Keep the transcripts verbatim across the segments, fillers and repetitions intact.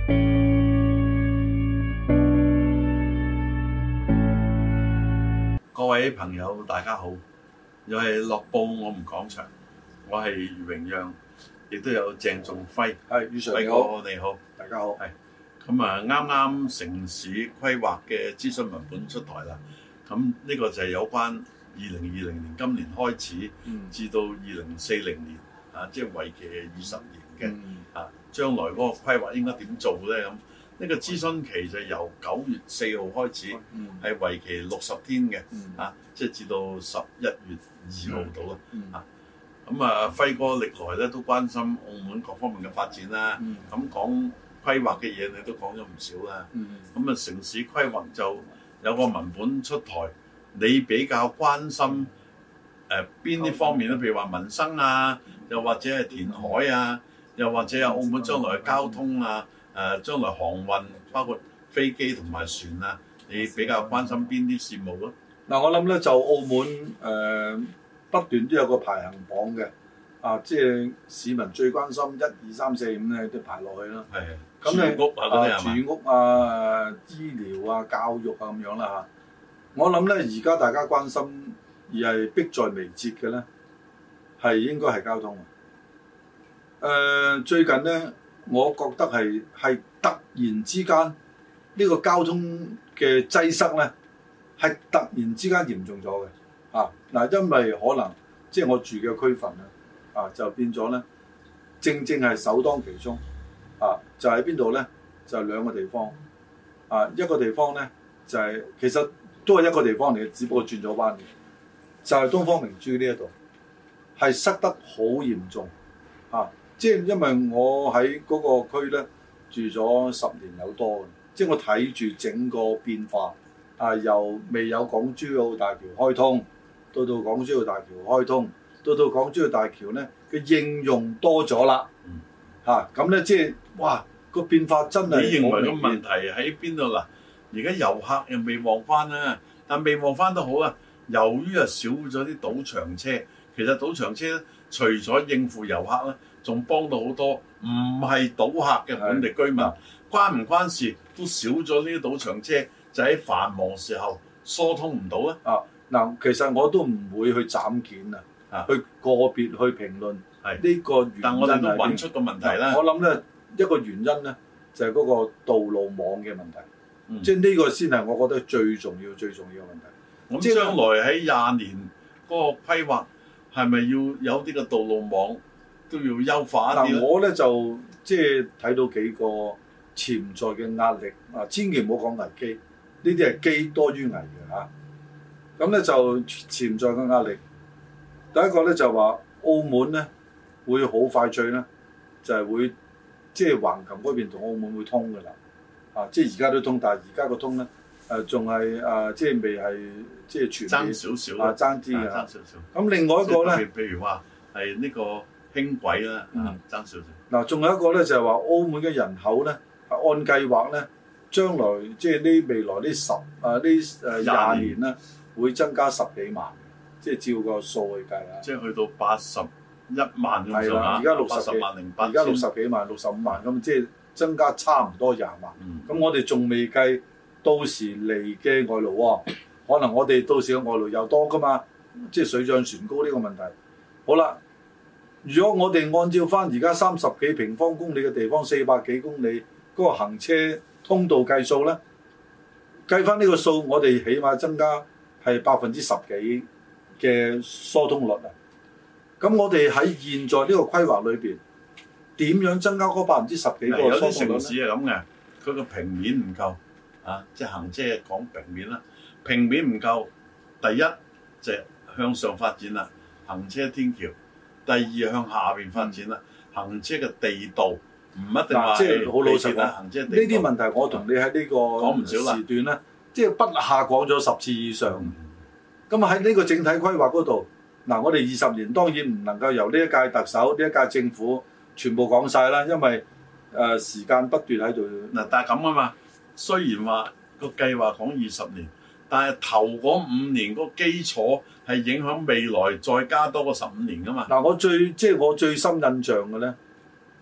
各位朋友，大家好，又係樂報我們講場，我係余榮讓，亦都有鄭仲輝。 係，余 Sir 你好，你好， 大家好。 係咁啊，啱啱城市規劃嘅諮詢文本出台啦。咁呢個就係有關二零二零年今年開始，嗯、至到二零四零年啊，即係為期二十年嘅、嗯、啊，將來嗰個規劃應該點做咧？咁呢個諮詢期就由九月四號開始，係、嗯、為期六十天嘅，嗯、啊，即係至到十一月二號到啦，嗯、啊，咁啊，輝哥歷來咧都關心澳門各方面嘅發展啦，咁、嗯、講規劃嘅嘢你都講咗唔少啦，咁啊、嗯、城市規劃就有個文本出台，你比較關心誒邊啲方面咧？譬如話民生啊，又或者係填海啊，又或者係澳門將來嘅交通啊。誒、呃、將來航運包括飛機同埋船啊，你比較關心邊啲事務咯？ 嗱、嗯，我諗咧就澳門誒、呃、不斷都有個排行榜嘅，啊，即係市民最關心一二三四五咧都排落去啦。係的，咁咧住屋啊嗰啲係嘛？住屋啊、醫療啊、教育啊咁樣啦嚇。我諗咧而家大家關心而係迫在眉睫嘅咧，係應該係交通。誒、呃、最近咧。我覺得係係突然之間呢、這個交通嘅擠塞咧，係突然之間嚴重咗嘅啊！嗱，因為可能即係我住嘅區份咧啊，就變咗咧，正正係首當其衝啊！就喺邊度咧？就係、是、兩個地方啊，一個地方咧就係、是、其實都係一個地方嚟嘅，只不過轉咗彎嘅，就係、是、東方明珠呢一度係塞得好嚴重啊！即係因為我喺嗰個區咧住咗十年有多嘅，即係我睇住整個變化啊，由未有港珠澳大橋開通，到到港珠澳大橋開通，到到港珠澳大橋咧嘅應用多咗啦，嚇咁咧即係哇個變化真係。你認為個問題喺邊度嗱？而家遊客又未旺翻啦，但未旺翻都好啊。由於啊少咗啲賭場車，其實賭場車咧除咗應付遊客咧。仲幫到好多唔係賭客嘅本地居民，關唔關事都少咗呢啲賭場車，就喺繁忙時候疏通唔到咧。啊，嗱，其實我都唔會去斬件啊，去個別去評論呢個原因。但我哋都揾出個問題啦。我諗咧一個原因咧就係嗰個道路網嘅問題，嗯、即係呢個先係我覺得最重要、最重要嘅問題。咁、嗯、即係將來喺廿年嗰個規劃係咪要有啲嘅道路網？都要優化一啲。嗱，我咧就即係睇到幾個潛在嘅壓力啊！千祈唔好講危機，呢啲係機多於危嘅嚇。咁、啊、咧就潛在嘅壓力，第一個咧就話澳門咧會好快脆咧，就係、是、會即係橫琴嗰邊同澳門會通㗎啦。啊，即係而家都通，但係而家個通咧誒仲係誒即係未係即係全面爭少少啊，爭啲嘅。爭少少。咁另外一個咧， 譬如話係呢個。輕軌啦，啊，爭少少。 嗱，仲有一個咧，就係話澳門嘅人口咧，按計劃咧，將來即係呢未來呢十啊呢誒廿年咧，會增加十幾萬，即係照個數去計啊。 即係去到八十一萬咁上下， 而家六十萬零八， 而家六十幾萬、六十五萬咁，即係增加差唔多廿萬。咁、嗯、我哋仲未計到時嚟嘅外勞喎，可能我哋到時嘅外勞又多噶嘛，即係水漲船高呢個問題。好啦。如果我哋按照翻而家三十幾平方公里嘅地方，四百幾公里嗰個行車通道計數咧，計翻呢個數，我哋起碼增加係百分之十幾嘅疏通率啊！咁我哋喺現在呢個規劃裏邊，點樣增加嗰百分之十幾個疏通率咧？有啲城市係咁嘅，佢個平面唔夠啊，即係行車講平面啦，平面唔夠，第一就係向上發展啦，行車天橋。第二向下邊發展啦，行車嘅地道唔一定話即係好老實啦。行車地道呢啲問題，我同你喺呢個講唔少時段咧，即係不下講咗十次以上。咁啊喺呢個整體規劃嗰度，嗱我哋二十年當然唔能夠由呢一屆特首、呢一屆政府全部講晒啦，因為誒、呃、時間不斷喺度。嗱，但係咁啊嘛，雖然話個計劃講二十年。但係頭嗰五年嗰個基礎係影響未來再加多個十五年噶嘛？嗱，我最即係我最深印象嘅咧，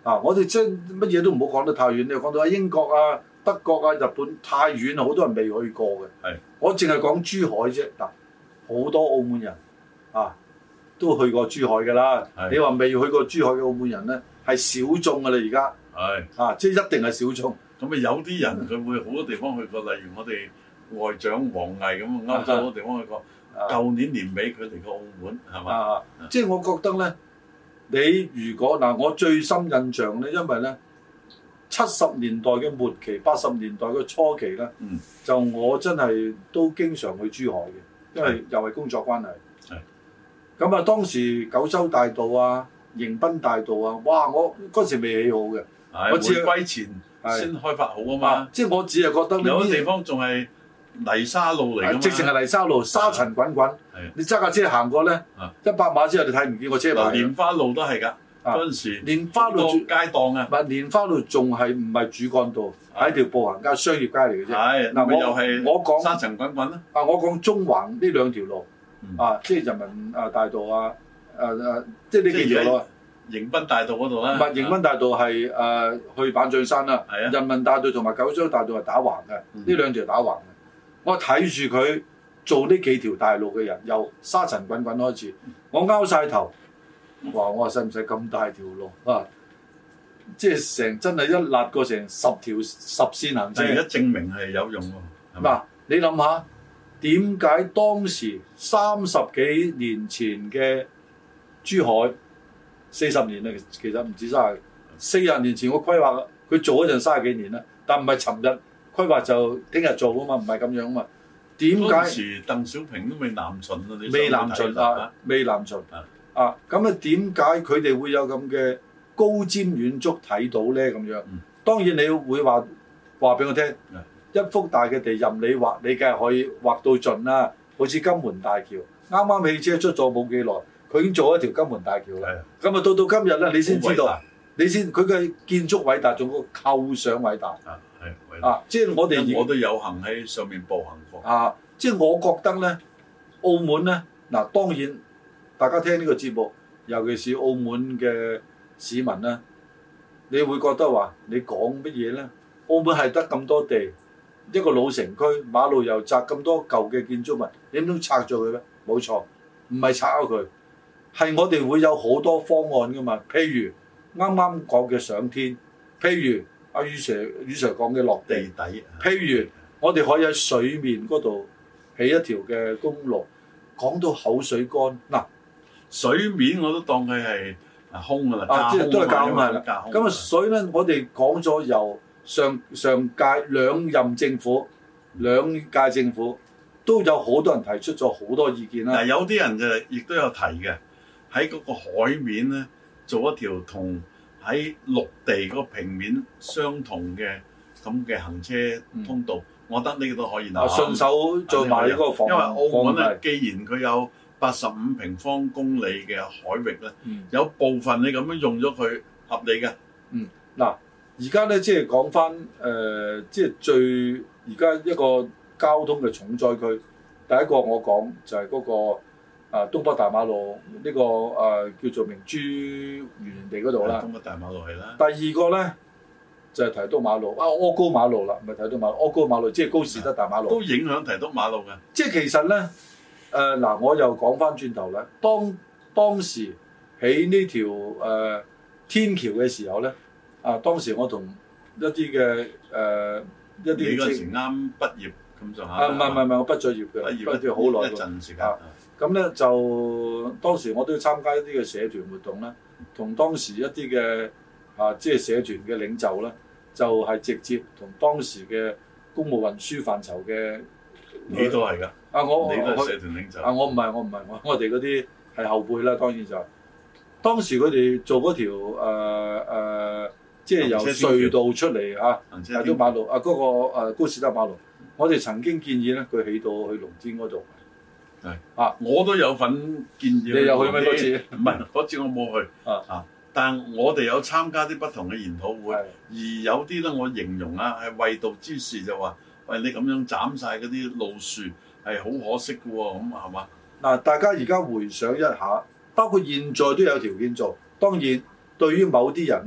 啊！我哋將乜嘢都唔好講得太遠，你又講到啊英國啊、德國啊、日本太遠啊，好多人未去過嘅。 係，我淨係講珠海啫。嗱，好多澳門人啊都去過珠海㗎啦。你話未去過珠海嘅澳門人咧，係小眾㗎啦而家。係啊，即係一定係小眾。 咁啊有啲人佢會好多地方去過，例如我哋外長王毅咁，歐洲好多地方去過。舊、啊、年年尾佢嚟過澳門係嘛？啊，啊即係我覺得咧。你如果嗱，我最深印象咧，因為咧七十年代嘅末期、八十年代嘅初期咧，嗯、就我真係都經常去珠海嘅，因為又係工作關係。係咁啊，當時九州大道啊、迎賓大道啊，哇！我嗰時未起好嘅，我只係回歸前先開發好啊嘛。啊即係我只係覺得有啲地方仲係泥沙路嚟㗎嘛， 直情係泥沙路，沙塵滾滾。你揸架車行過咧，一百碼之後你睇唔見個車牌。 蓮花路都係㗎，嗰陣時蓮花路街檔啊， 唔係蓮花路仲係唔係主幹道，係條步行街、商業街嚟嘅啫。係嗱，我又係我講沙塵滾滾啦。 啊，我講中環呢兩條路啊，即係人民啊大道啊，誒誒，即係呢幾條路。 迎賓大道嗰度啦。 唔係迎賓大道係誒去板將山啦。係啊。人民大道同埋九州大道係打橫嘅，呢兩條打橫嘅。我睇住佢做呢幾條大路嘅人，由沙塵滾滾開始，我拗晒頭，話我話使唔使咁大條路啊？即係成真係一揦過成十條十線行車。 而家證明係有用喎。 嗱，你諗下，點解當時三十幾年前嘅珠海四十年咧，其實唔止三十，四十年前我規劃佢做嗰陣三十幾年啦，但唔係尋日。規劃就聽日做啊嘛，唔係咁樣啊嘛。點解？當時鄧小平都未南巡啊，你未南巡啊，未南巡啊。啊，咁啊點解佢哋會有咁嘅高瞻遠矚睇到咧？咁樣，嗯、當然你會話話俾我聽，嗯、一幅大嘅地任你畫，你梗係可以畫到盡啦。好似金門大橋，啱啱汽車出咗冇幾耐，佢已經做一條金門大橋啦。咁啊、嗯、到到今日咧，你先知道，你先佢嘅建築偉大，仲個構想偉大。嗯啊！即係我哋， 我都有幸喺上面步行過。 啊！即係我覺得咧，澳門咧，嗱、啊、當然大家聽呢個節目，尤其是澳門嘅市民咧，你會覺得話你講乜嘢咧？澳門係得咁多地，一個老城區，馬路又窄，咁多舊嘅建築物，你唔通拆咗佢咩？冇錯，唔係拆咗佢，係我哋會有好多方案噶嘛。譬如啱啱講嘅上天，譬如。阿余 Sir，余 Sir 講嘅落地，地底，譬如我哋可以喺水面嗰度起一條嘅公路，講到口水乾嗱， 水面我都當佢係空㗎啦， 啊，即係都係架空啦。咁啊，所以咧，我哋講咗由上上屆兩任政府、兩屆政府都有好多人提出咗好多意見啦。 嗱，有啲人就亦都有提嘅，喺嗰個海面咧做一條同喺陸地嗰個平面相同嘅咁嘅行車通道，嗯、我覺得呢個都可以嗱， 順手做埋呢個防， 因為澳門咧，既然佢有八十五平方公里嘅海域咧，嗯、有部分你咁樣用咗佢合理嘅。 嗯，嗱，而家咧即係講翻誒，即係最而家一個交通嘅重災區，第一個我講就係嗰、嗰個。啊，東北大馬路呢、這個誒、呃、叫做明珠園林地嗰度啦。 東北大馬路係啦。 第二個咧就係、是、提督馬路啊，柯高馬路啦，唔係提督馬路，柯高馬路即係高士德大馬路。 都影響提督馬路嘅。 即係其實咧誒嗱，我又講翻轉頭啦，當當時起呢條誒天橋嘅時候咧，啊當時我同一啲嘅誒一啲。 你嗰時啱畢業咁上下。 啊唔係唔係唔係，我畢咗業嘅，畢業咗好耐一陣時間。 啊咁咧就當時我都要參加一啲嘅社團活動啦，同當時一啲嘅啊即係社團嘅領袖啦，就係、是、直接同當時嘅公務運輸範疇嘅你都係㗎啊我你都係社團領袖啊我唔係我唔係我我哋嗰啲係後輩啦，當然就係、是、當時佢哋做嗰條誒、呃呃、即係由隧道出嚟啊，大東馬路啊嗰、那個、呃、高士德馬路，我哋曾經建議咧佢起到去龍天嗰度。 係啊！我都有份建議。 你有去咩嗰次？ 唔係嗰次我冇去啊啊！但我哋有參加啲不同嘅研討會，的而有啲咧我形容啊係衛道之士就話：喂，你咁樣斬晒嗰啲路樹係好可惜嘅喎，咁係嘛？ 嗱，大家而家回想一下，包括現在都有條件做。當然，對於某啲人咧，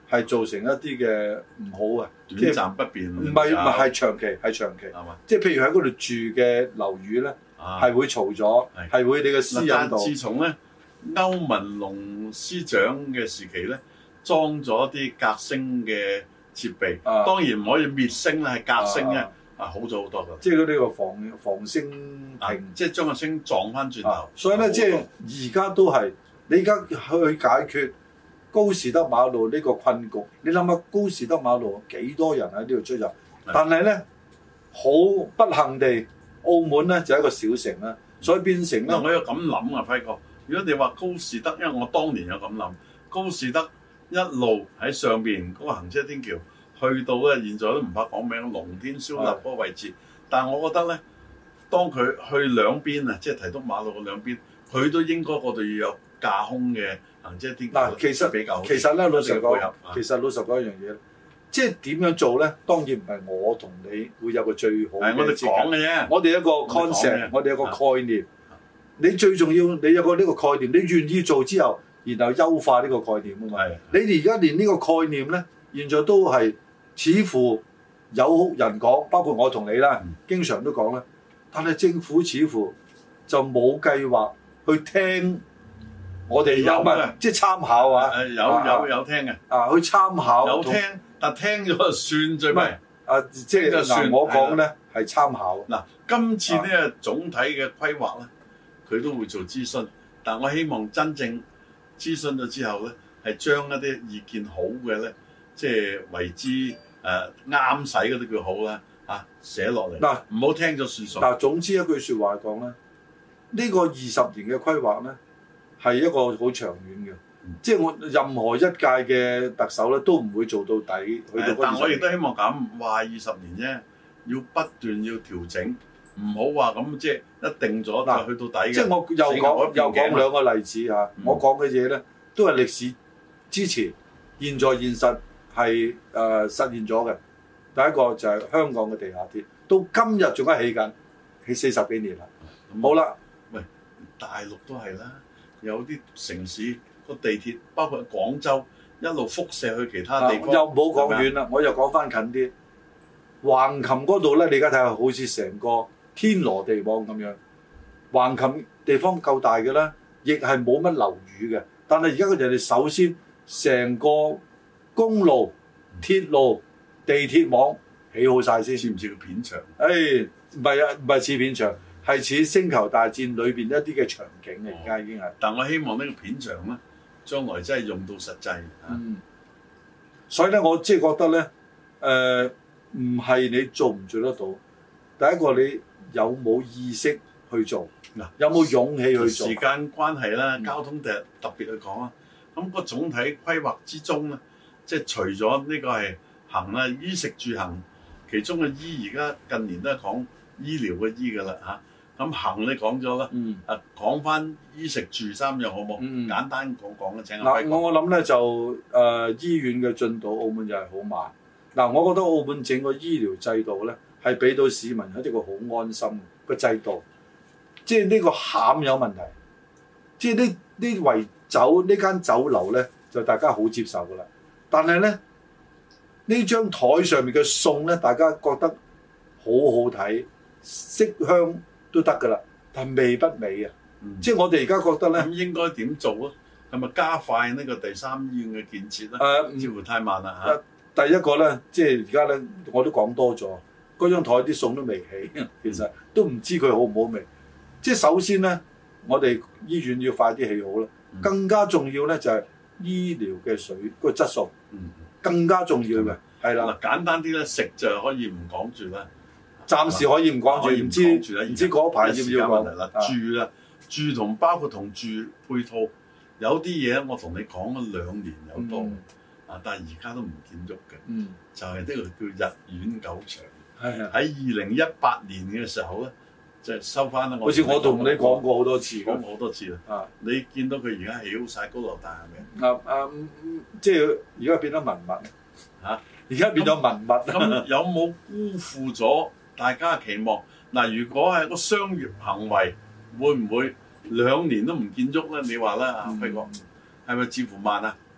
係造成一啲嘅唔好啊， 短暫不便。 唔係唔係係長期係長期，即係譬如喺嗰度住嘅樓宇咧，係會嘈咗，係會你嘅私隱度。 自從咧歐文龍司長嘅時期咧，裝咗啲隔聲嘅設備，當然唔可以滅聲啦，係隔聲咧啊好咗好多㗎。 即係嗰啲個防防聲屏， 即係將個聲撞翻轉頭。所以咧，即係而家都係你而家去解決高士德馬路呢個困局，你諗下高士德馬路幾多人喺呢度出入？但係咧好不幸地，澳門咧就係一個小城啦，所以變成咧。 我有咁諗啊，輝哥。如果你話高士德，因為我當年有咁諗，高士德一路喺上邊嗰個行車天橋，去到咧現在都唔怕講名，龍天燒臘嗰個位置。但係我覺得咧，當佢去兩邊啊，即係提督馬路嘅兩邊，佢都應該嗰度要有架空嘅行車天橋。嗱， 其實比較其實咧，老實講，其實老實講一樣嘢，即係點樣做咧？當然唔係我同你會有個最好嘅。係我哋講嘅啫。我哋一個 concept，我哋有個概念。你最重要，你有個呢個概念，你願意做之後，然後優化呢個概念啊嘛。係。你哋而家連呢個概念咧，現在都係似乎有人講，包括我同你啦，嗯、經常都講啦。但係政府似乎就冇計劃去聽我哋有乜，即係參考啊。誒有有有聽嘅。 啊，去參考。 有聽，但聽咗就算最尾。 啊，即係嗱，我講咧係參考。 嗱，今次呢個總體嘅規劃咧。佢都會做諮詢，但我希望真正諮詢咗之後咧，係將一啲意見好嘅咧，即係為之誒啱使嗰啲叫好啦，嚇寫落嚟。嗱，唔好聽咗算數。 嗱，總之一句説話講咧，呢個二十年嘅規劃咧係一個好長遠嘅，嗯、即係我任何一屆嘅特首咧都唔會做到底。去到但我亦都希望咁話二十年啫，要不斷要調整。唔好話咁即係一定咗就去到底嘅。 即係我又講又講兩個例子嚇，嗯、我講嘅嘢咧都係歷史之前、現在、現實係誒、呃、實現咗嘅。第一個就係香港嘅地下鐵，到今日仲係起緊，起四十幾年啦。嗯、好啦， 喂，大陸都係啦，有啲城市個地鐵，包括廣州，一路輻射去其他地方。啊、又冇講遠啦，吧我又講翻近啲，橫琴嗰度咧，你而家睇下好似成個天羅地網咁樣，橫琴地方夠大嘅啦，亦係冇乜樓宇嘅。但係而家佢哋首先成個公路、鐵路、地鐵網起好晒先， 似唔似個片場？ 誒，唔係啊，唔係似片場，係似星球大戰裏邊一啲嘅場景嘅。而家、哦、已經係。但我希望呢個片場咧，將來真係用到實際。 嗯。所以咧，我即係覺得咧，誒、呃，唔係你做唔做得到，第一個你。有冇意識去做？嗱，有冇勇氣去做？ 時間關係啦，交通特特別去講啊。咁個總體規劃之中咧，即係除咗呢個係行啦，衣食住行，其中嘅醫而家近年都係講醫療嘅醫㗎啦嚇。咁行你講咗啦，啊講翻衣食住三樣好冇？簡單講講啦，請阿輝哥。 嗱，我我諗咧就誒醫院嘅進度，澳門又係好慢。嗱，我覺得澳門整個醫療制度咧，係俾到市民一個好安心嘅制度，即係呢個餡有問題，即係呢呢圍酒呢間酒樓咧就大家好接受噶啦。但係咧呢張台上面嘅餸咧，大家覺得好好睇，色香都得噶啦，但係味不美啊。嗯、即係我哋而家覺得咧， 咁應該點做啊？係咪加快呢個第三醫院嘅建設咧？誒、呃，似乎太慢啦嚇、呃。 第一個咧，即係而家咧，我都講多咗。嗰張台啲餸都未起，其實都唔知佢好唔好味。即係首先咧，我哋醫院要快啲起好啦。嗯、更加重要咧就係醫療嘅水個質素，嗯、更加重要嘅係啦。 嗱，簡單啲咧，食就可以唔講住啦。 暫時可以唔講住，唔知唔知嗰排要唔要講啦。住啦，住同包括同住配套，有啲嘢我同你講咗兩年有多，啊，但係而家都唔見喐嘅，就係呢個叫日苑狗場。係啊！喺二零一八年嘅時候咧，就係收翻啦。 好似我同你講過好多次， 講過好多次啦。啊！你見到佢而家起好晒高樓大廈嘅。啊啊！即係而家變咗文物嚇，而家變咗文物。 咁有冇辜負咗大家嘅期望？嗱，如果係個商業行為，會唔會兩年都唔建築咧？你話啦，阿輝哥，係咪似乎慢啊？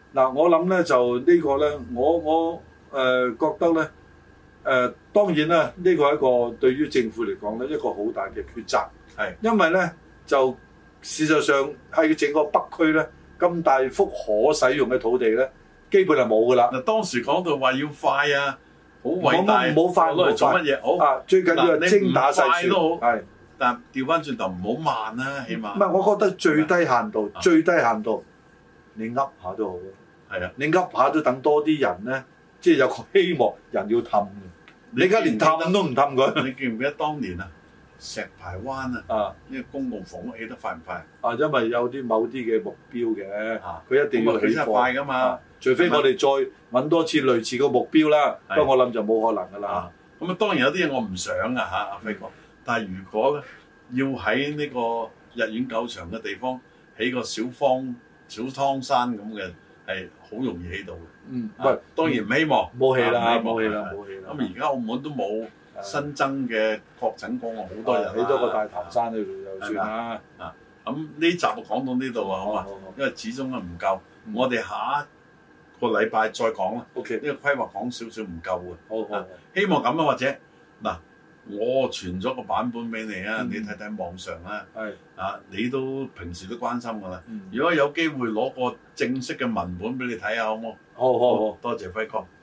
嗱，我諗咧就呢個咧，我我誒、呃、覺得咧誒、呃、當然啦，呢、這個係一個對於政府嚟講咧一個好大嘅抉擇，係因為咧就事實上喺整個北區咧咁大幅可使用嘅土地咧，基本係冇㗎啦。 嗱，當時講到話要快啊，好偉大， 冇快攞嚟做乜嘢？好啊，最緊要係精打細算都好， 係。 但調翻轉頭唔好慢啦，起碼。 唔係，我覺得最低限度，最低限度，你噏下都好咯。 係啊， 你噏下都等多啲人咧，即係有個希望，人要氹。你而家連氹都唔氹佢。 你記唔記得當年啊，石排灣啊，啊，呢個公共房屋起得快唔快？ 啊，因為有啲某啲嘅目標嘅，佢一定要起得快㗎嘛。 除非我哋再揾多次類似個目標啦，不過我諗就冇可能㗎啦。 咁啊，當然有啲嘢我唔想啊嚇，阿輝哥。但係如果要喺呢個日苑狗場嘅地方起個小方小湯山咁嘅，係好容易起到嘅。嗯，喂，當然唔希望冇起啦，冇起啦，冇起啦。 咁而家澳門都冇新增嘅確診個案，好多人起多個大潭山喺度就算啦。 啊，咁呢集就講到呢度啊，好嘛？因為始終係唔夠，我哋下一個禮拜再講啦。OK，呢個規劃講少少唔夠嘅。好好，希望咁啊，或者嗱。我傳咗個版本俾你啊，嗯、你睇睇網上啦。係啊，你都平時都關心㗎啦。嗯、如果有機會攞個正式嘅文本俾你睇下，好唔好？好好好，多謝輝哥。